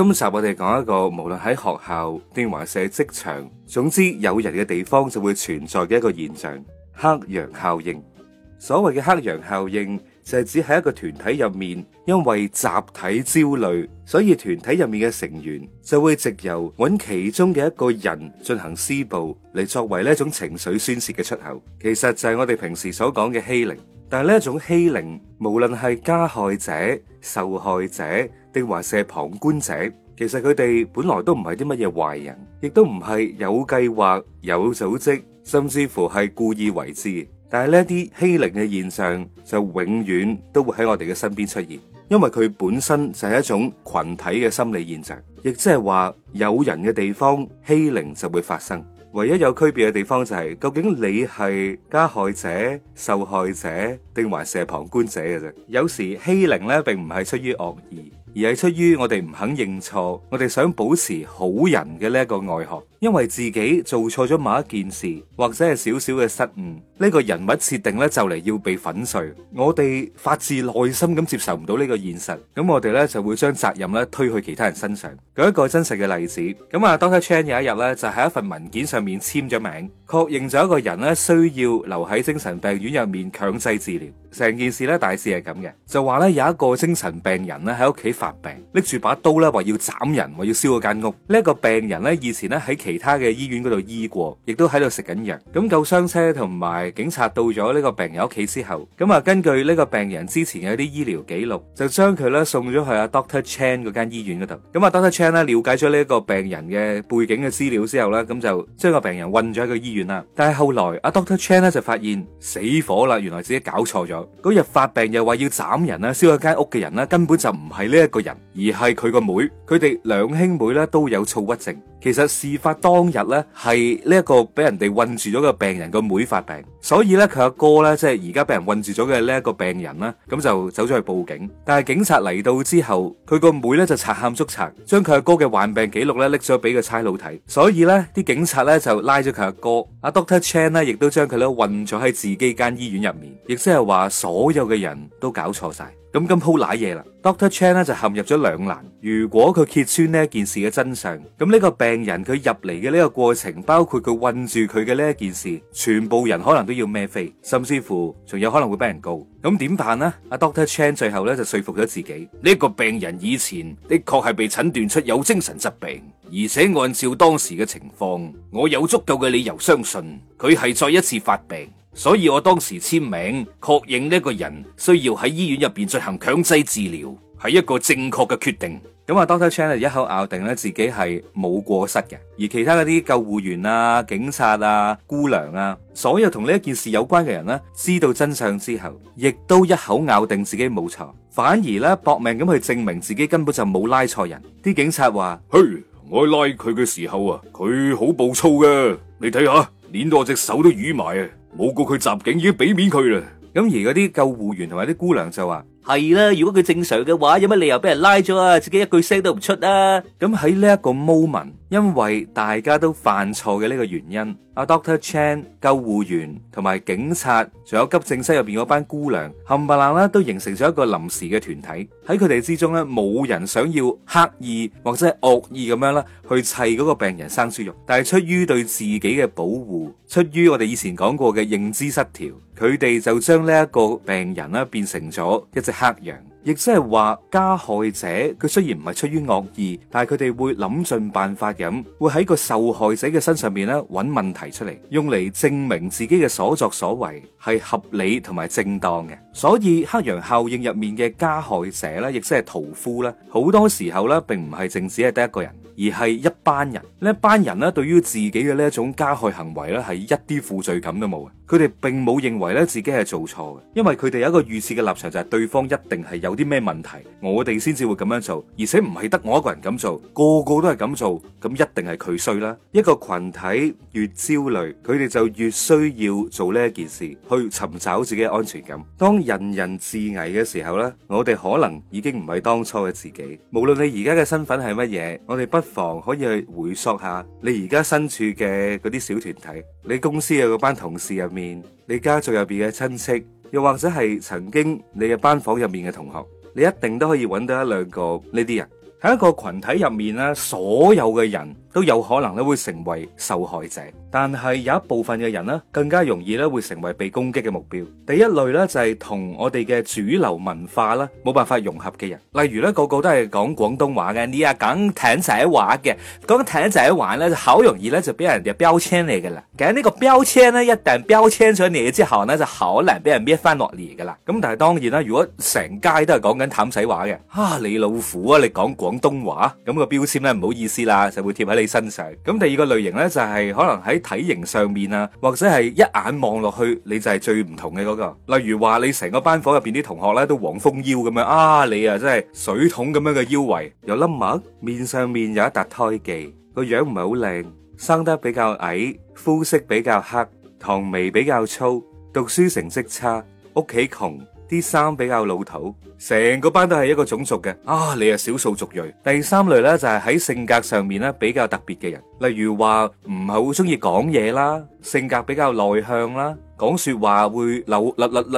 今集我哋講一個無論喺學校定還是職場，總之有人嘅地方就會存在嘅一個現象——黑羊效應。所謂嘅黑羊效應就係指喺一個團體入面，因為集體焦慮，所以團體入面嘅成員就會藉由揾其中嘅一個人進行施暴，嚟作為呢一種情緒宣洩嘅出口。其實就係我哋平時所講嘅欺凌。但係呢一種欺凌，無論係加害者、受害者定還是旁觀者，其實佢哋本來都唔係啲乜嘢壞人，亦都唔係有計劃、有組織，甚至乎係故意為之。但係呢啲欺凌嘅現象就永遠都會喺我哋嘅身邊出現，因為佢本身就係一種群體嘅心理現象，亦即係話有人嘅地方欺凌就會發生。唯一有區別嘅地方就係，究竟你係加害者、受害者定還是旁觀者嘅啫。有時欺凌咧並唔係出於惡意，而係出於我哋唔肯認錯，我哋想保持好人嘅呢一個外殼。因為自己做錯咗某一件事，或者係少少嘅失誤，呢個人物設定咧就嚟要被粉碎，我哋發自內心咁接受唔到呢個現實，咁我哋咧就會將責任咧推去其他人身上。舉一個真實嘅例子，咁啊 Dr. Chan 有一日咧就喺一份文件上面簽咗名，確認咗一個人咧需要留喺精神病院入面強制治療。成件事咧大致係咁嘅，就話咧有一個精神病人咧喺屋企發病，拎住把刀咧話要斬人，話要燒嗰間屋。呢一個病人咧以前咧喺其他嘅醫院嗰度醫過，亦都喺度食緊藥。咁救傷車同埋警察到咗呢個病人屋企之後，咁啊根據呢個病人之前嘅一啲醫療記錄，就將佢咧送咗去阿 Dr. Chan 嗰間醫院嗰度。咁啊 Dr. Chan 咧了解咗呢一個病人嘅背景嘅資料之後咧，咁就將個病人運咗喺個醫院啦。但係後來阿 Dr. Chan 咧就發現死火啦，原來自己搞錯咗。嗰日發病又話要斬人啦，燒咗間屋嘅人咧根本就唔係呢一個人，而係佢個妹。佢哋兩兄妹咧都有躁鬱症。其實事發當日咧係呢一個俾人哋困住咗嘅病人個妹發病，所以咧佢阿哥咧即係而家俾人困住咗嘅呢一個病人啦，咁就走咗去報警。但係警察嚟到之後，佢個妹咧就賊喊捉賊，將佢阿哥嘅患病記錄咧拎咗俾個差佬睇。所以咧啲警察咧就拉咗佢阿哥，阿 Dr. Chan 咧亦都將佢咧困咗喺自己間醫院入面，亦即係話所有嘅人都搞錯晒。咁鋪瀨嘢啦 ，Dr. Chan 咧就陷入咗兩難。如果佢揭穿呢一件事嘅真相，咁呢個病人佢入嚟嘅呢個過程，包括佢困住佢嘅呢一件事，全部人可能都要孭飛，甚至乎仲有可能會俾人告。咁點辦呢？阿 Dr. Chan 最後咧就說服咗自己，呢個病人以前的確係被診斷出有精神疾病，而且按照當時嘅情況，我有足夠嘅理由相信佢係再一次發病。所以我當時簽名確認呢個人需要喺醫院入邊進行強制治療，係一個正確嘅決定。咁啊 Dr. Chan 一口咬定咧自己係冇過失嘅，而其他嗰啲救護員啊、警察啊、姑娘啊，所有同呢一件事有關嘅人呢，知道真相之後，亦都一口咬定自己冇錯，反而咧搏命咁去證明自己根本就冇拉錯人。啲警察話：嘿，我拉佢嘅時候啊，佢好暴躁嘅，你睇下，捏到我隻手都瘀埋啊！冇告佢襲警已經俾面佢啦。咁而嗰啲救護員同埋啲姑娘就話：係啦，如果佢正常嘅話，有乜理由俾人拉咗啊？自己一句聲都唔出啊！咁喺呢一個 moment，因為大家都犯錯嘅呢個原因，阿 Dr. Chan、救護員同埋警察，仲有急症室入邊嗰班姑娘，冚唪唥啦都形成咗一個臨時嘅團體。喺佢哋之中咧，冇人想要刻意或者係惡意咁樣啦，去砌嗰個病人生豬肉，但係出於對自己嘅保護，出於我哋以前講過嘅認知失調，佢哋就將呢一個病人啦變成咗一隻黑羊。亦即係話加害者佢雖然唔係出於惡意，但係佢哋會諗盡辦法咁，會喺個受害者嘅身上面咧揾問題出嚟，用嚟證明自己嘅所作所為係合理同埋正當嘅。所以黑羊效應入面嘅加害者咧，亦即係屠夫咧，好多時候咧並唔係淨只係得一個人，而係一班人。呢一班人咧對於自己嘅呢一種加害行為咧係一啲負罪感都冇嘅，佢哋並冇認為咧自己係做錯嘅，因為佢哋有一個預設嘅立場，就係對方一定係有啲咩問題，我哋先至會咁樣做，而且唔係得我一個人咁做，個個都係咁做，咁一定係佢衰啦。一個群體越焦慮，佢哋就越需要做呢一件事，去尋找自己嘅安全感。當人人自危嘅時候呢，我哋可能已經唔係當初嘅自己。無論你而家嘅身份係乜嘢，我哋不妨可以去回溯下你而家身處嘅嗰啲小團體，你公司嘅嗰班同事入面，你家族入邊嘅親戚，又或者係曾經你嘅班房入面嘅同學，你一定都可以揾到一兩個呢啲人。 喺一個群體入面咧，所有嘅人都有可能咧會成為受害者，但係有一部分嘅人咧更加容易咧會成為被攻擊嘅目標。第一類咧就係同我哋嘅主流文化啦冇辦法融合嘅人，例如咧個個都係講廣東話嘅，你啊講艇仔話嘅，講艇仔話咧就好容易咧就俾人哋標籤你噶啦。其實呢個標籤咧一旦標籤咗你之後咧就好難俾人搣翻落嚟噶啦。咁但係當然啦，如果成街都係講緊譚仔話嘅，你老虎啊，你講廣東話，咁個標籤咧唔好意思啦，就會貼喺你身上。咁第二個類型咧就係可能喺體型上面啊，或者係一眼望落去你就係最唔同嘅嗰個。例如話你成個班房入邊啲同學咧都黃蜂腰咁樣，你啊真係水桶咁樣嘅腰圍，有粒癦，面上面有一笪胎記，個樣唔係好靚，生得比較矮，膚色比較黑，唐眉比較粗，讀書成績差，屋企窮，啲衫比較老土，成個班都係一個種族嘅，你係少數族裔。第三類咧就係喺性格上面咧比較特別嘅人，例如話唔係好中意講嘢啦，性格比較內向啦，講說話會漏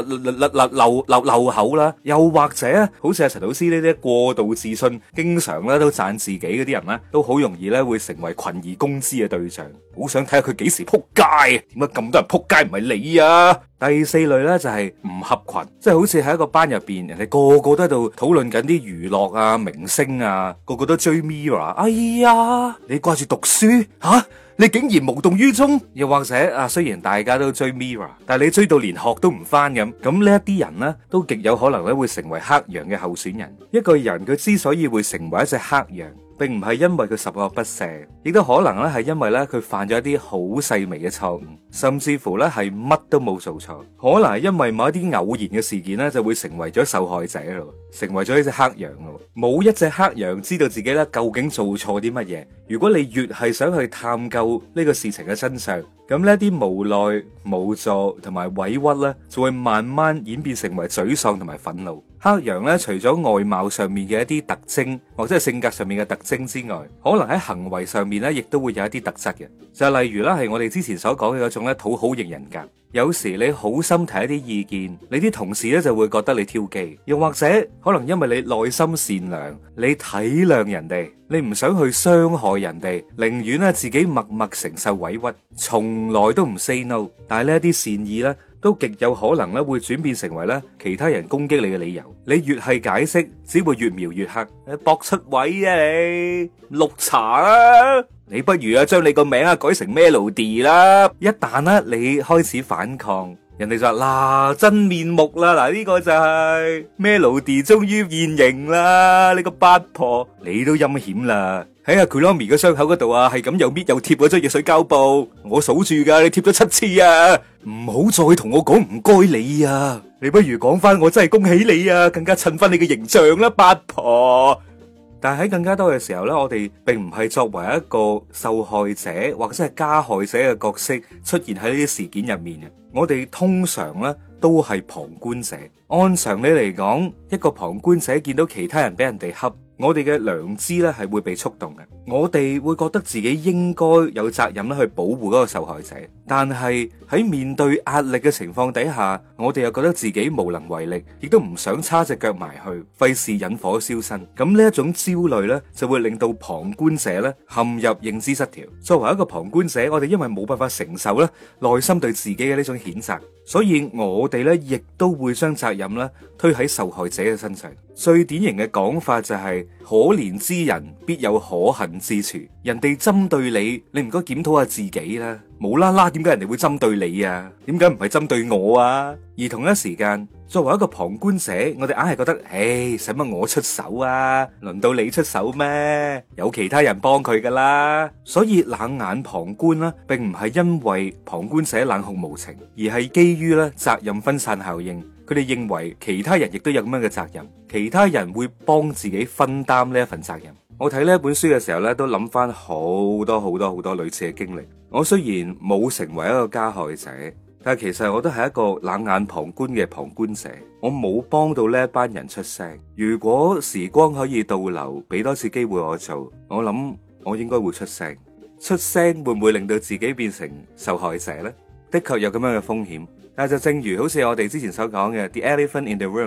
口啦，又或者好似阿陳老師呢啲過度自信，經常咧都讚自己嗰啲人咧，都好容易咧會成為群而攻之嘅對象。好想睇下佢幾時撲街，點解咁多人撲街唔係你啊？第四類咧就係唔合群，即係好似喺一個班入邊，人哋個個都喺度討論緊啲娛樂啊、明星啊，個個都追 Mirror。哎呀，你掛住讀書吓？你竟然無動於衷？又或者雖然大家都追 Mirror， 但係你追到連學都唔返咁，咁呢一啲人呢，都極有可能咧會成為黑羊嘅候選人。一個人佢之所以會成為一隻黑羊，並唔係因為佢十惡不赦，亦都可能咧係因為咧佢犯咗一啲好細微嘅錯誤，甚至乎咧係乜都冇做錯。可能係因為某一啲偶然嘅事件咧，就會成為咗受害者咯，成為咗一隻黑羊咯。冇一隻黑羊知道自己咧究竟做錯啲乜嘢。如果你越係想去探究呢個事情嘅真相，咁呢啲無奈、無助同埋委屈咧，就會慢慢演變成為沮喪同埋憤怒。黑羊咧，除咗外貌上面嘅一啲特徵，或者係性格上面嘅特徵之外，可能喺行為上面咧，亦都會有一啲特質嘅。就係例如啦，係我哋之前所講嘅嗰種咧討好型人格。有時你好心提一啲意見，你啲同事咧就會覺得你挑機，又或者可能因為你內心善良，你體諒人哋，你唔想去傷害人哋，寧願咧自己默默承受委屈，從來都唔 say no。但係呢一啲善意咧，都極有可能咧會轉變成為咧其他人攻擊你嘅理由。你越係解釋，只會越描越黑。搏出位啊你，綠茶啊！你不如啊將你個名啊改成 Melody 啦。一旦咧你開始反抗，人哋就話嗱真面目啦，嗱呢個就係 Melody 終於現形啦。你個八婆，你都陰險啦。喺阿 Kuromi 嘅傷口嗰度啊，係咁又搣又貼嗰張熱水膠布，我數住噶，你貼咗7次啊！唔好再同我講唔該你啊！你不如講翻我真係恭喜你啊，更加襯翻你嘅形象啦，八婆。但係喺更加多嘅時候咧，我哋並唔係作為一個受害者或者係加害者嘅角色出現喺呢啲事件入面嘅，我哋通常咧都係旁觀者。按常理嚟講，一個旁觀者見到其他人俾人哋恰，我哋嘅良知咧係會被觸動嘅，我哋會覺得自己應該有責任咧去保護嗰個受害者。但係喺面對壓力嘅情況底下，我哋又覺得自己無能為力，亦都唔想叉隻腳埋去，費事引火燒身。咁呢一種焦慮呢，就會令到旁觀者咧陷入認知失調。作為一個旁觀者，我哋因為冇辦法承受咧內心對自己嘅呢種譴責，所以我哋咧亦都會將責任咧推喺受害者嘅身上。最典型嘅講法就係可憐之人必有可恨之處，人哋針對你，你唔該檢討下自己啦。無啦啦，點解人哋會針對你啊？點解唔係針對我啊？而同一時間，作為一個旁觀者，我哋硬係覺得，使乜我出手啊？輪到你出手咩？有其他人幫佢噶啦。所以冷眼旁觀啦，並唔係因為旁觀者冷酷無情，而係基於咧責任分散效應。佢哋認為其他人亦都有咁樣嘅責任，其他人會幫自己分擔呢一份責任。我睇呢本書嘅時候咧，都諗翻好多類似嘅經歷。我雖然冇成為一個加害者，但係其實我都係一個冷眼旁觀嘅旁觀者。我冇幫到呢一班人出聲。如果時光可以倒流，俾多次機會我做，我諗我應該會出聲。出聲會唔會令到自己變成受害者呢？的確有咁樣嘅風險。但係就正如好似我哋之前所講嘅 The Elephant in the Room，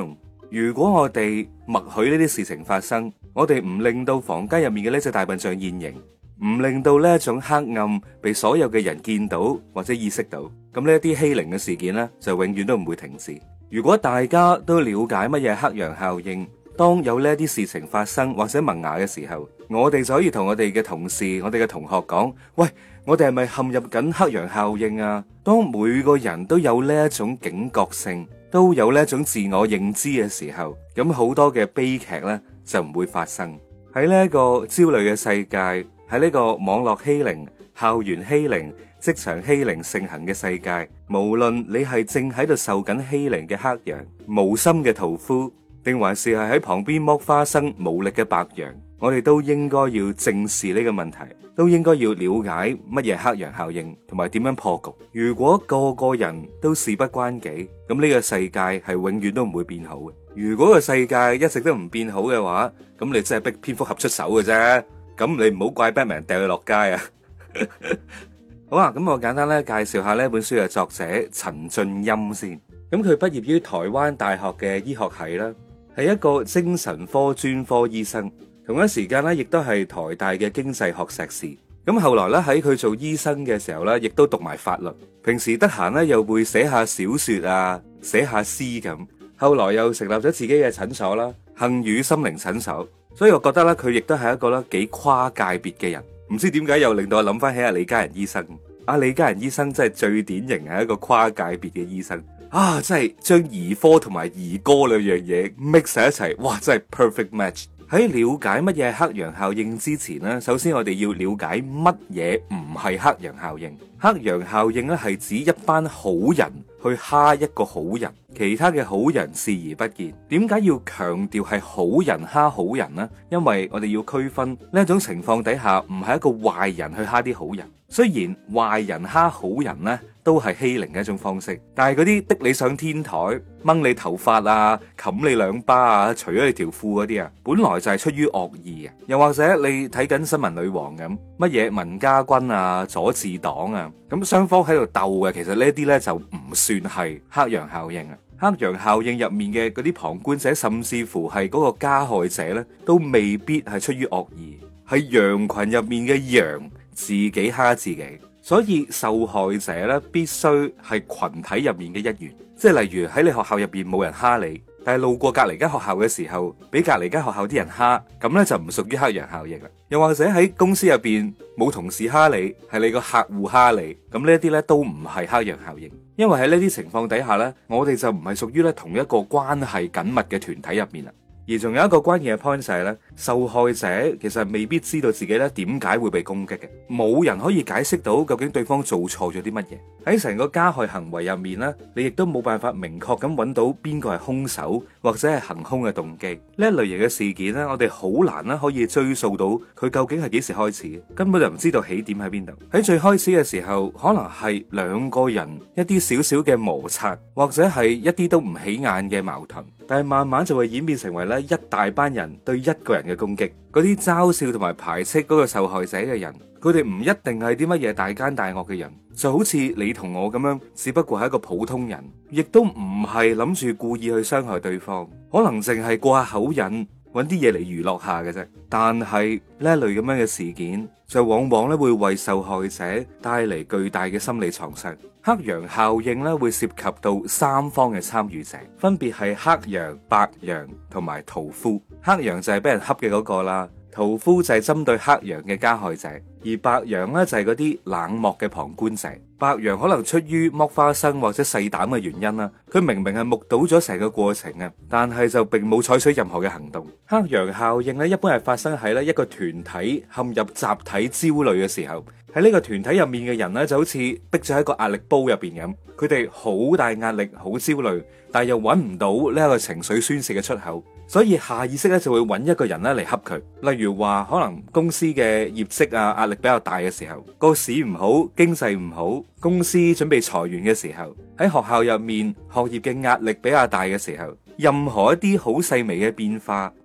如果我哋默許呢啲事情發生，我哋唔令到房間入面嘅呢隻大笨象現形，唔令到呢一種黑暗被所有嘅人見到或者意識到，咁呢一啲欺凌嘅事件呢，就永遠都唔會停止。如果大家都了解乜嘢黑羊效應，當有呢啲事情發生或者萌芽嘅時候，我哋就可以同我哋嘅同事、我哋嘅同學講：喂，我哋係咪陷入緊黑羊效應啊？當每個人都有呢一種警覺性，都有呢一種自我認知嘅時候，咁好多嘅悲劇呢就唔會發生。喺呢一個焦慮嘅世界，喺呢個網絡欺凌、校園欺凌、職場欺凌盛行嘅世界，無論你係正喺度受緊欺凌嘅黑羊、無心嘅屠夫，定還是係喺旁邊剝花生無力嘅白羊，我哋都應該要正視呢個問題，都應該要了解乜嘢黑羊效應同埋點樣破局。如果個個人都事不關己，咁呢個世界係永遠都唔會變好嘅。如果個世界一直都唔變好嘅話，咁你真係逼蝙蝠俠出手嘅啫。咁你唔好怪 Batman 掉佢落街啊。好啊，咁我簡單咧介紹下呢本書嘅作者陳俊欽先。咁佢畢業於台灣大學嘅醫學系啦，係一個精神科專科醫生，同一時間咧亦都係台大嘅經濟學碩士。咁後來咧喺佢做醫生嘅時候咧，亦都讀埋法律。平時得閒咧又會寫下小說啊，寫下詩咁。後來又成立咗自己嘅診所啦，幸宇心靈診所。所以我覺得咧佢亦都係一個咧幾跨界別嘅人。唔知點解又令到我諗翻起阿李嘉仁醫生。阿李嘉仁醫生真係最典型係一個跨界別嘅醫生。啊！真係將兒科同埋兒歌兩樣嘢 mix 喺一齊，哇！真係 perfect match。喺了解乜嘢係黑羊效應之前呢，首先我哋要了解乜嘢唔係黑羊效應。黑羊效應咧係指一班好人去蝦一個好人，其他嘅好人視而不見。點解要強調係好人蝦好人呢？因為我哋要區分呢一種情況底下，唔係一個壞人去蝦啲好人。雖然壞人蝦好人呢都係欺凌嘅一種方式，但係嗰啲逼你上天台、掹你頭髮啊、冚你兩巴啊、除咗你條褲嗰啲啊，本來就係出於惡意嘅。又或者你睇緊新聞女王咁，乜嘢文家軍啊、左治黨啊，咁雙方喺度鬥嘅，其實呢啲呢就唔算係黑羊效應啊。黑羊效應入面嘅嗰啲旁觀者，甚至乎係嗰個加害者呢，都未必係出於惡意，係羊群入面嘅羊自己蝦自己。所以受害者咧必須係群體入面嘅一員，即係例如喺你學校入邊冇人蝦你，但係路過隔籬間學校嘅時候，俾隔籬間學校啲人蝦，咁咧就唔屬於黑羊效應啦。又或者喺公司入邊冇同事蝦你，係你個客戶蝦你，咁呢一啲咧都唔係黑羊效應，因為喺呢啲情況底下咧，我哋就唔係屬於咧同一個關係緊密嘅團體入面啦。而仲有一個關鍵嘅 point 就係咧，受害者其實未必知道自己咧點解會被攻擊嘅，冇人可以解釋到究竟對方做錯咗啲乜嘢。喺成個加害行為入面咧，你亦都冇辦法明確咁揾到邊個係兇手或者係行兇嘅動機。呢一類型嘅事件咧，我哋好難啦可以追溯到佢究竟係幾時開始，根本就唔知道起點喺邊度。喺最開始嘅時候，可能係兩個人一啲少少嘅摩擦，或者係一啲都唔起眼嘅矛盾。但係慢慢就會演變成為咧一大班人對一個人嘅攻擊，嗰啲嘲笑同埋排斥嗰個受害者嘅人，佢哋唔一定係啲乜嘢大奸大惡嘅人，就好似你同我咁樣，只不過係一個普通人，亦都唔係諗住故意去傷害對方，可能淨係過下口癮，揾啲嘢嚟娛樂下嘅啫。但係呢一類咁樣嘅事件，就往往咧會為受害者帶嚟巨大嘅心理創傷。黑羊效應咧會涉及到三方嘅參與者，分別係黑羊、白羊同埋屠夫。黑羊就係俾人恰嘅嗰個啦，屠夫就係針對黑羊嘅加害者，而白羊咧就係嗰啲冷漠嘅旁觀者。白羊可能出於剝花生或者細膽嘅原因啦，佢明明係目睹咗成個過程啊，但係就並冇採取任何嘅行動。黑羊效應咧一般係發生喺咧一個團體陷入集體焦慮嘅時候，喺呢個團體入面嘅人咧就好似逼咗喺個壓力煲入邊咁，佢哋好大壓力，好焦慮，但係又揾唔到呢一個情緒宣洩嘅出口，所以下意識咧就會揾一個人咧嚟恰佢。例如話可能公司嘅業績啊壓力比較大嘅時候，個市唔好，經濟唔好，公司準備裁員嘅時候，喺學校入面學業嘅壓力比較大嘅時候，任何一啲好細微嘅變化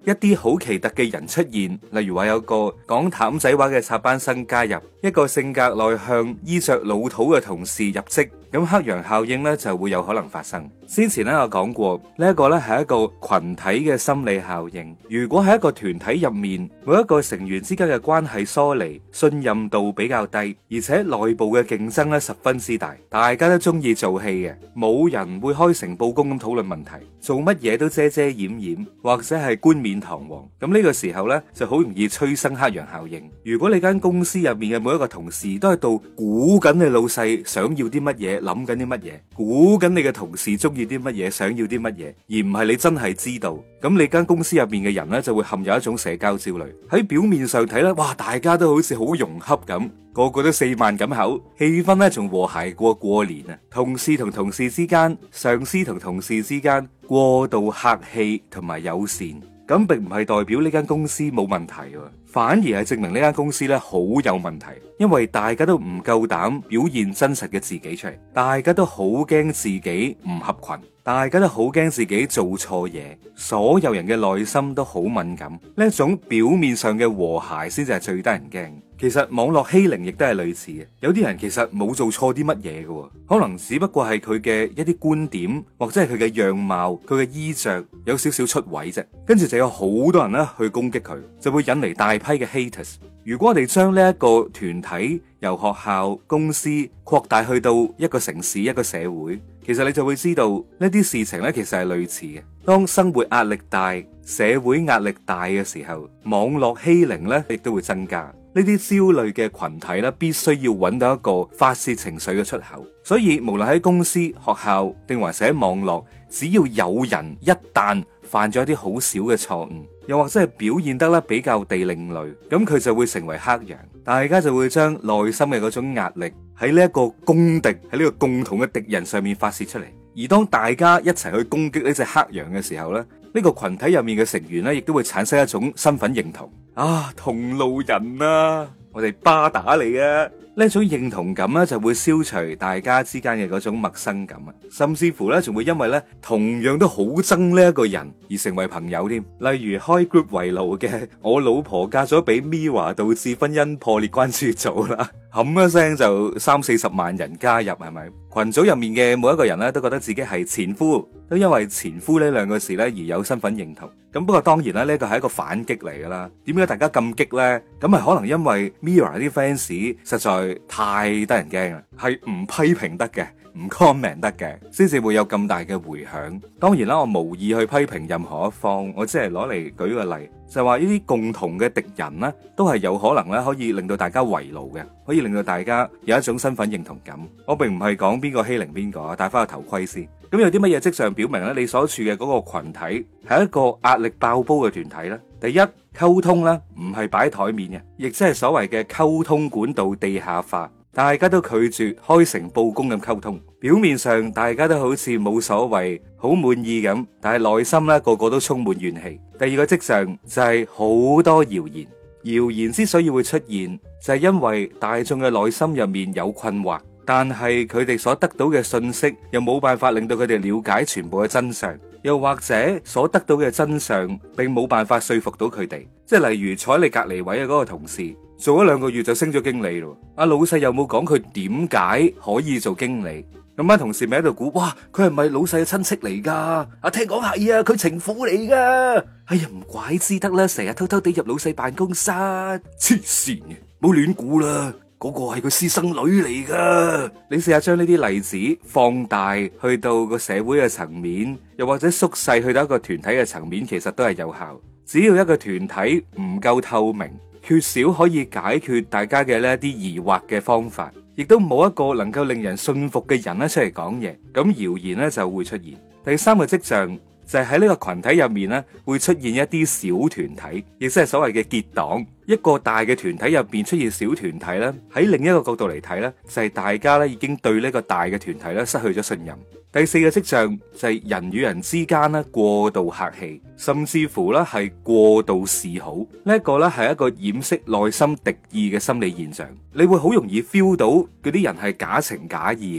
一啲好奇特嘅人出現，例如話有個講譚仔話嘅插班生加入，一個性格內向、衣着老土嘅同事入職，咁黑羊效應咧就會有可能發生。先前咧我講過，呢一個咧係一個群體嘅心理效應。如果喺一個團體入面，每一個成員之間嘅關係疏離、信任度比較低，而且內部嘅競爭咧十分之大，大家都中意做戲嘅，冇人會開誠佈公咁討論問題，做乜嘢都遮遮掩掩，或者係冠冕堂皇。咁呢個時候呢，就好容易催生黑羊效應。如果你間公司入面嘅每一個同事都喺度估緊你老細想要啲乜嘢，諗緊啲乜嘢，估緊你嘅同事中意啲乜嘢，想要啲乜嘢，而唔係你真係知道，咁你間公司入面嘅人呢，就會陷入一種社交焦慮。喺表面上睇咧，哇，大家都好似好融洽咁，個個都四萬咁口，氣氛咧仲和諧過年啊！同事同同事之間，上司同同事之間過度客氣同埋友善，咁並唔係代表呢間公司冇問題，反而係證明呢間公司咧好有問題，因為大家都唔夠膽表現真實嘅自己出嚟，大家都好驚自己唔合群，大家都好驚自己做錯嘢，所有人嘅內心都好敏感，呢一種表面上嘅和諧先至係最得人驚。其實網絡欺凌亦都係類似嘅，有啲人其實冇做錯啲乜嘢嘅，可能只不過係佢嘅一啲觀點或者係佢嘅樣貌、佢嘅衣着有少少出位啫，跟住就有好多人咧去攻擊佢，就會引嚟大批嘅 haters。如果我哋將呢一個團體由學校、公司擴大去到一個城市、一個社會，其實你就會知道呢啲事情咧其實係類似嘅。當生活壓力大、社會壓力大嘅時候，網絡欺凌咧亦都會增加。呢啲焦慮嘅群體咧，必須要揾到一個發洩情緒嘅出口。所以無論喺公司、學校定還是喺網絡，只要有人一旦犯咗一啲好小嘅錯誤，又或者係表現得咧比較地另類，咁佢就會成為黑羊。大家就會將內心嘅嗰種壓力喺呢一個公敵、喺呢個共同嘅敵人上面發洩出嚟。而當大家一齊去攻擊呢隻黑羊嘅時候咧，呢個群體入面嘅成員咧，亦都會產生一種身份認同。啊，同路人啊，我哋巴打你啊！呢種認同感咧，就會消除大家之間嘅嗰種陌生感啊，甚至乎咧，仲會因為咧同樣都好憎呢一個人而成為朋友添。例如開 group 圍爐嘅，我老婆嫁咗俾 Mirror 導致婚姻破裂關注組啦，冚一聲就30-40萬人加入，係咪？群組入面嘅每一個人咧，都覺得自己係前夫，都因為前夫呢兩個字咧而有身份認同。咁不過當然啦，呢個係一個反擊嚟噶啦。點解大家咁激呢？咁係可能因為 Mirror 啲 fans 實在太得人驚啦，係唔批評得嘅，唔 comment 得嘅，先至會有咁大嘅回響。當然啦，我無意去批評任何一方，我只係攞嚟舉個例，就係話呢啲共同嘅敵人呢，都係有可能咧可以令到大家圍爐嘅，可以令到大家有一種身份認同感。我並唔係講邊個欺凌邊個，戴翻個頭盔先。咁有啲乜嘢跡象表明咧，你所處嘅嗰個群體係一個壓力爆煲嘅團體呢？第一，溝通咧唔係擺喺台面嘅，亦即係所謂嘅溝通管道地下化，大家都拒絕開誠佈公咁溝通。表面上大家都好似冇所謂，好滿意咁，但係內心咧個個都充滿怨氣。第二個跡象就係好多謠言，謠言之所以會出現，就係因為大眾嘅內心入面有困惑。但係佢哋所得到嘅信息又冇辦法令到佢哋了解全部嘅真相，又或者所得到嘅真相並冇辦法說服到佢哋。即係例如坐喺你隔籬位嘅嗰個同事，做咗2個月就升咗經理咯。阿老細又冇講佢點解可以做經理，咁班同事咪喺度估，哇，佢係咪老細嘅親戚嚟噶？聽講係啊，佢情婦嚟噶。哎呀，唔怪之得啦，成日偷偷地入老細辦公室，黐線嘅，冇亂估啦。嗰個係個私生女嚟噶。你試下將呢啲例子放大去到個社會嘅層面，又或者縮細去到一個團體嘅層面，其實都係有效。只要一個團體唔夠透明，缺少可以解決大家嘅呢一啲疑惑嘅方法，亦都冇一個能夠令人信服嘅人咧出嚟講嘢，咁謠言咧就會出現。第三個跡象就係喺呢個群體入面咧，會出現一啲小團體，亦即係所謂嘅結黨。一個大嘅團體入邊出現小團體咧，喺另一個角度嚟睇咧，就係大家咧已經對呢個大嘅團體咧失去咗信任。第四個跡象就係人與人之間咧過度客氣，甚至乎咧係過度示好。呢一個咧係一個掩飾內心敵意嘅心理現象。你會好容易 feel 到嗰啲人係假情假意嘅。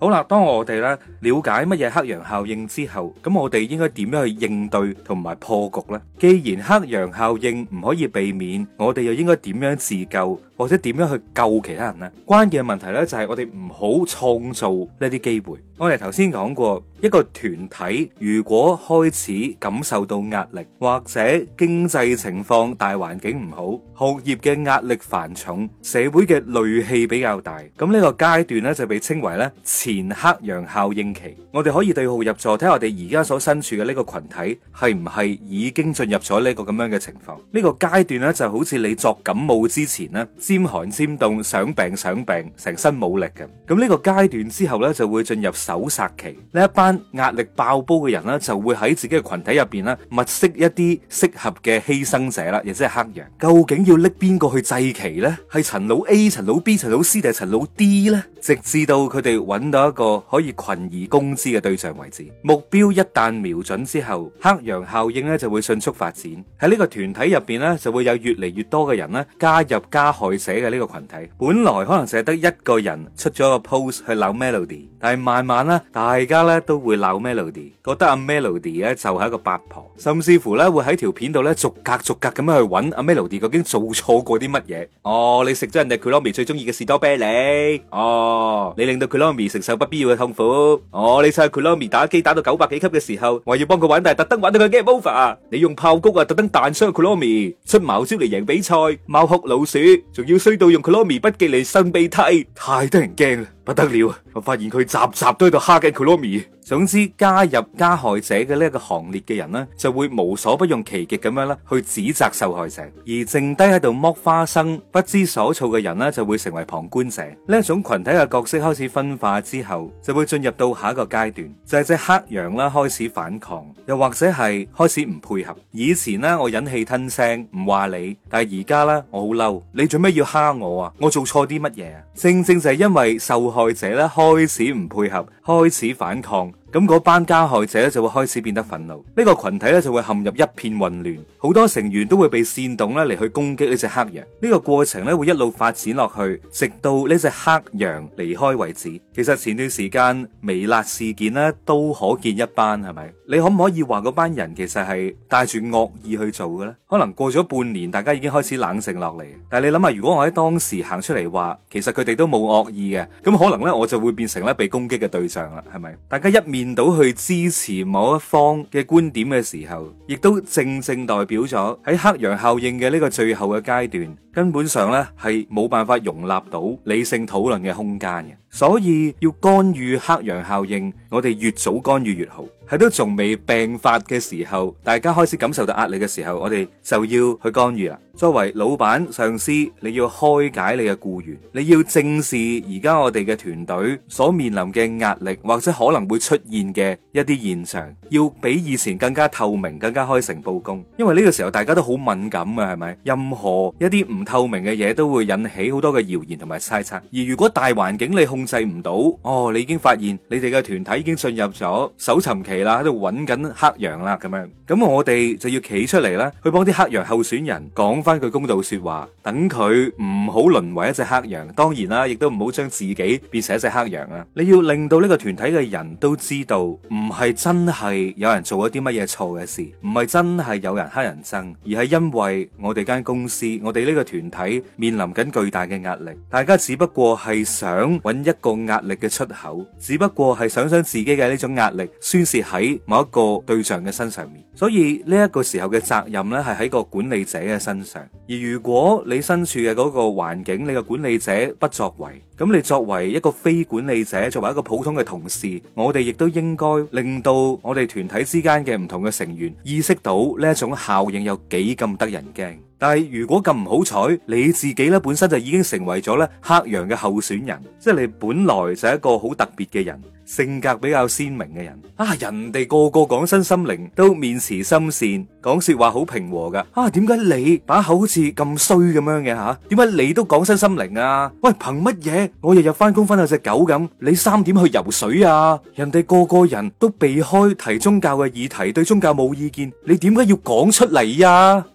好啦，當我哋咧了解乜嘢黑羊效應之後，咁我哋應該點樣去應對同埋破局呢？既然黑羊效應唔可以避免，我哋又應該點樣自救，或者點樣去救其他人呢？關鍵嘅問題呢，就係我哋唔好創造呢啲機會。我哋頭先講過，一個團體如果開始感受到壓力，或者經濟情況大環境唔好，學業嘅壓力繁重，社會嘅戾氣比較大，咁呢個階段呢，就被稱為咧前黑羊效應期。我哋可以對號入座，睇下我哋而家所身處嘅呢個群體係唔係已經進入咗呢個咁樣嘅情況。呢個階段呢，就好似你作感冒之前呢，尖寒尖凍，想病，成身冇力嘅。咁呢個階段之後呢，就會進入搜殺期。呢一班壓力爆煲嘅人呢，就會喺自己嘅群體入邊呢，物色一啲適合嘅犧牲者啦，亦即係黑羊。究竟要拎邊個去祭旗呢？係陳老 A、陳老 B、陳老 C 定係陳老 D 呢？直至到佢哋揾到一個可以群而攻之嘅對象為止。目標一旦瞄準之後，黑羊效應呢就會迅速發展。喺呢個團體入邊呢，就會有越嚟越多嘅人呢加入加害者嘅呢個群體。本來可能淨係得一個人出咗個 post 去鬧 Melody， 但係慢慢呢，大家呢都會鬧 Melody， 覺得阿 Melody 呢就係一個八婆，甚至乎呢會喺條片度呢逐格咁樣去揾阿 Melody 究竟做錯過啲乜嘢。哦，你食咗人哋 Kuromi 最中意嘅士多啤梨。哦，你令到 Kuromi 承受不必要嘅痛苦。哦，你趁 Kuromi 打機打到900幾級嘅時候，話要幫佢玩，但係特登玩到佢 game over。你用炮谷啊，特登彈傷 Kuromi，出茅招嚟贏比賽，貓哭老鼠，仲要衰到用 Kuromi 筆記嚟擤鼻涕，太得人驚啦！不得了啊！我發現佢集都喺度蝦緊 Kuromi。總之，加入加害者嘅呢一個行列嘅人呢，就會無所不用其極咁樣啦，去指責受害者，而剩低喺度剝花生、不知所措嘅人呢，就會成為旁觀者。呢一種群體嘅角色開始分化之後，就會進入到下一個階段，就係隻黑羊啦開始反抗，又或者係開始唔配合。以前呢，我忍氣吞聲唔話你，但係而家呢，我好嬲，你做咩要蝦我啊？我做錯啲乜嘢啊？正正就係因為受害者咧開始唔配合，開始反抗。咁嗰班加害者咧就會開始變得憤怒，呢個群體咧就會陷入一片混亂，好多成員都會被煽動咧嚟去攻擊呢隻黑羊。呢個過程咧會一路發展落去，直到呢隻黑羊離開為止。其實前段時間微辣事件咧都可見一斑，係咪？你可唔可以話嗰班人其實係帶住惡意去做嘅咧？可能過咗半年，大家已經開始冷靜落嚟。但係你諗下，如果我喺當時行出嚟話，其實佢哋都冇惡意嘅，咁可能咧我就會變成咧被攻擊嘅對象啦，係咪？大家一面到去支持某一方嘅觀點嘅時候，亦都正代表咗喺黑羊效應嘅呢個最後嘅階段，根本上咧係冇辦法容納到理性討論嘅空間嘅。所以要干預黑羊效應，我哋越早干預越好。喺都仲未病發嘅時候，大家開始感受到壓力嘅時候，我哋就要去干預啦。作為老闆、上司，你要開解你嘅僱員，你要正視而家我哋嘅團隊所面臨嘅壓力，或者可能會出現嘅一啲現象，要比以前更加透明、更加開誠佈公。因為呢個時候大家都好敏感嘅，係咪？任何一啲唔透明嘅嘢都會引起好多嘅謠言同埋猜測。而如果大環境你控制唔到，你已經發現你哋嘅團體已經進入咗搜尋期啦，喺度揾緊黑羊啦，咁樣，咁我哋就要企出嚟啦，去幫啲黑羊候選人講翻句公道說話，等佢唔好淪為一隻黑羊。當然啦，亦都唔好將自己變成一隻黑羊啊！你要令到呢個團體嘅人都知道，唔係真係有人做咗啲乜嘢錯嘅事，唔係真係有人黑人憎，而係因為我哋間公司，我哋呢個團體面臨緊巨大嘅壓力，大家只不過係想揾一個壓力嘅出口，只不過係想將自己嘅呢種壓力宣泄喺某一個對象嘅身上面。所以呢一個時候嘅責任呢，係喺個管理者嘅身上。而如果你身處嘅嗰個環境，你個管理者不作為，咁你作為一個非管理者，作為一個普通嘅同事，我哋亦都應該令到我哋團體之間嘅唔同嘅成員意識到呢一種效應有幾咁得人驚。但係如果咁唔好彩，你自己咧本身就已經成為咗咧黑羊嘅候選人，即係你本來就係一個好特別嘅人，性格比較鮮明嘅人啊！人哋個個講身心靈都面慈心善，講說話好平和噶啊！點解你把口好似咁衰咁樣嘅吓？點解你都講身心靈啊？喂，憑乜嘢我日日翻工翻到隻狗咁？你3點去游水啊？人哋個個人都避開提宗教嘅議題，對宗教冇意見，你點解要講出嚟呀？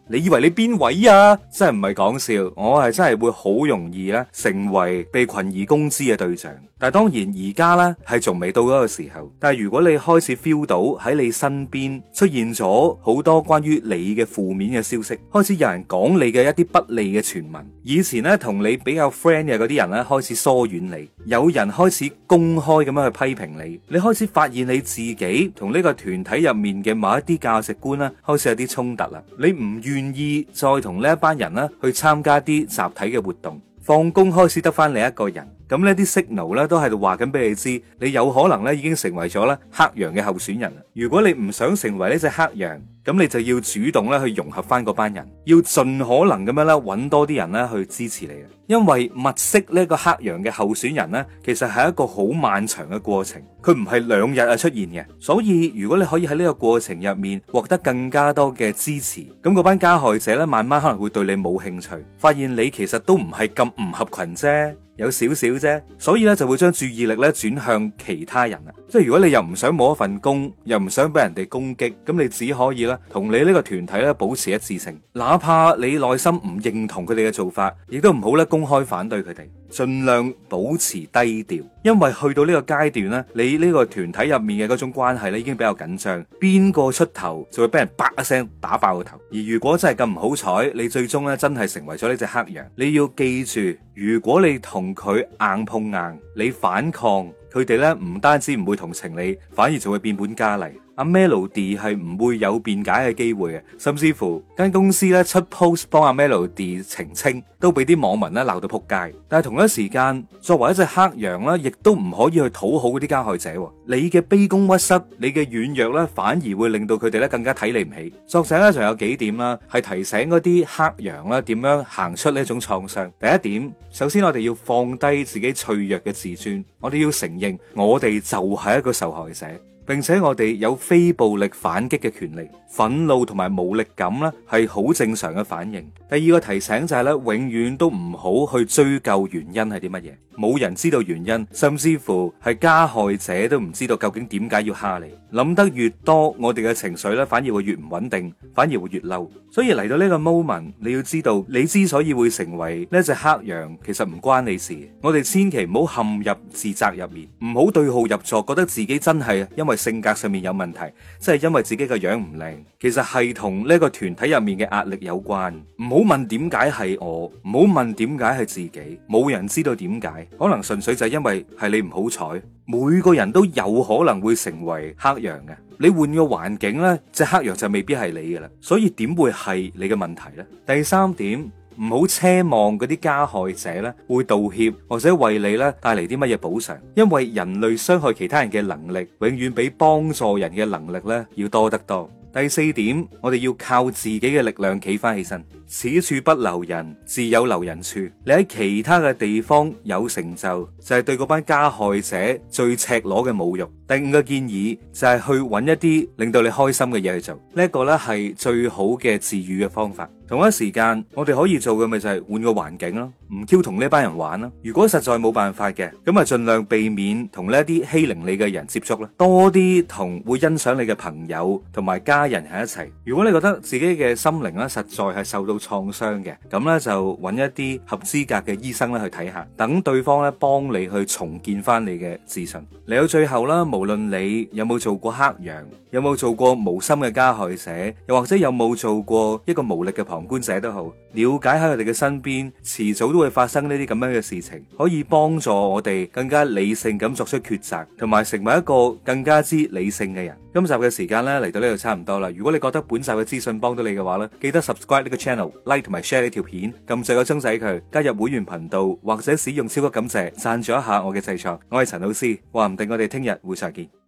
你以為你邊位啊？真係唔係講笑，我係真係會好容易咧成為被群而攻之嘅對象。但係當然而家咧係仲未到嗰個時候。但係如果你開始 feel 到喺你身邊出現咗好多關於你嘅負面嘅消息，開始有人講你嘅一啲不利嘅傳聞，以前咧同你比較 friend 嘅嗰啲人咧開始疏遠你，有人開始公開咁樣去批評你，你開始發現你自己同呢個團體入面嘅某一啲價值觀咧開始有啲衝突啦，你唔願意再同呢一班人咧去參加啲集體嘅活動，放工開始得翻你一個人。咁呢啲 signal 咧都喺度話緊俾你知，你有可能咧已經成為咗咧黑羊嘅候選人。如果你唔想成為呢隻黑羊，咁你就要主動咧去融合翻嗰班人，要盡可能咁樣咧揾多啲人咧去支持你啊！因為物色呢個黑羊嘅候選人咧，其實係一個好漫長嘅過程，佢唔係2日啊出現嘅。所以如果你可以喺呢個過程入面獲得更加多嘅支持，咁嗰班加害者咧慢慢可能會對你冇興趣，發現你其實都唔係咁唔合群啫。有少少啫，所以咧就會將注意力咧轉向其他人啦。即係如果你又唔想冇一份工，又唔想俾人哋攻擊，咁你只可以咧同你呢個團體咧保持一致性，哪怕你內心唔認同佢哋嘅做法，亦都唔好咧公開反對佢哋，盡量保持低調。因為去到呢個階段咧，你呢個團體入面嘅嗰種關係咧已經比較緊張，邊個出頭就會俾人啪一聲打爆個頭。而如果真係咁唔好彩，你最終咧真係成為咗呢隻黑羊，你要記住，如果你同佢硬碰硬，你反抗，佢哋咧唔單止唔會同情你，反而就會變本加厲。阿 Melody 係唔會有辯解嘅機會嘅，甚至乎間公司咧出 post 幫阿 Melody 澄清，都俾啲網民咧鬧到撲街。但係同一時間，作為一隻黑羊咧，亦都唔可以去討好嗰啲加害者。你嘅卑躬屈膝，你嘅軟弱咧，反而會令到佢哋咧更加睇你唔起。作者咧仲有幾點啦，係提醒嗰啲黑羊啦點樣行出呢一種創傷。第一點，首先我哋要放低自己脆弱嘅自尊，我哋要承認我哋就係一個受害者。並且我哋有非暴力反擊嘅權利，憤怒同埋無力感咧係好正常嘅反應。第二個提醒就係咧，永遠都唔好去追究原因係啲乜嘢，冇人知道原因，甚至乎係加害者都唔知道究竟點解要蝦你。諗得越多，我哋嘅情緒咧反而會越唔穩定，反而會越嬲。所以嚟到呢個 moment， 你要知道，你之所以會成為呢隻黑羊，其實唔關你事。我哋千祈唔好陷入自責入面，唔好對號入座，覺得自己真係因為性格上面有問題，即係因為自己個樣唔靚，其實係同呢個團體入面嘅壓力有關。唔好問點解係我，唔好問點解係自己，冇人知道點解，可能純粹就係因為係你唔好彩。每個人都有可能會成為黑羊嘅，你換個環境呢，隻黑羊就未必係你嘅啦，所以點會係你嘅問題呢？第三點，唔好奢望嗰啲加害者呢會道歉或者為你呢帶嚟啲乜嘢補償，因為人類傷害其他人嘅能力永遠比幫助人嘅能力呢要多得多。第四點，我哋要靠自己嘅力量企翻起身。此處不留人，自有留人處。你喺其他嘅地方有成就，就係對嗰班加害者最赤裸嘅侮辱。第五個建議就係去揾一啲令到你開心嘅嘢去做，呢一個呢係最好嘅治癒嘅方法。同一時間，我哋可以做嘅咪就係換個環境咯，唔 Q 同呢班人玩啦。如果實在冇辦法嘅，咁啊盡量避免同呢一啲欺凌你嘅人接觸啦，多啲同會欣賞你嘅朋友同埋家人喺一齊。如果你覺得自己嘅心靈咧實在係受到創傷嘅，咁咧就揾一啲合資格嘅醫生咧去睇下，等對方咧幫你去重建翻你嘅自信。嚟到最後啦，無論你有冇做過黑羊，有冇做過無心嘅加害者，又或者有冇做過一個無力嘅旁觀者都好，了解喺佢哋嘅身邊，遲早都會發生呢啲咁樣嘅事情，可以幫助我哋更加理性咁作出抉擇，同埋成為一個更加之理性嘅人。今集嘅時間咧嚟到呢度差唔多啦。如果你覺得本集嘅資訊幫到你嘅話咧，記得 subscribe 呢個 channel、like 同埋 share 呢條片，撳住個鐘仔佢，加入會員頻道或者使用超級感謝贊助一下我嘅製作。我係陳老師，話唔定我哋聽日會再見。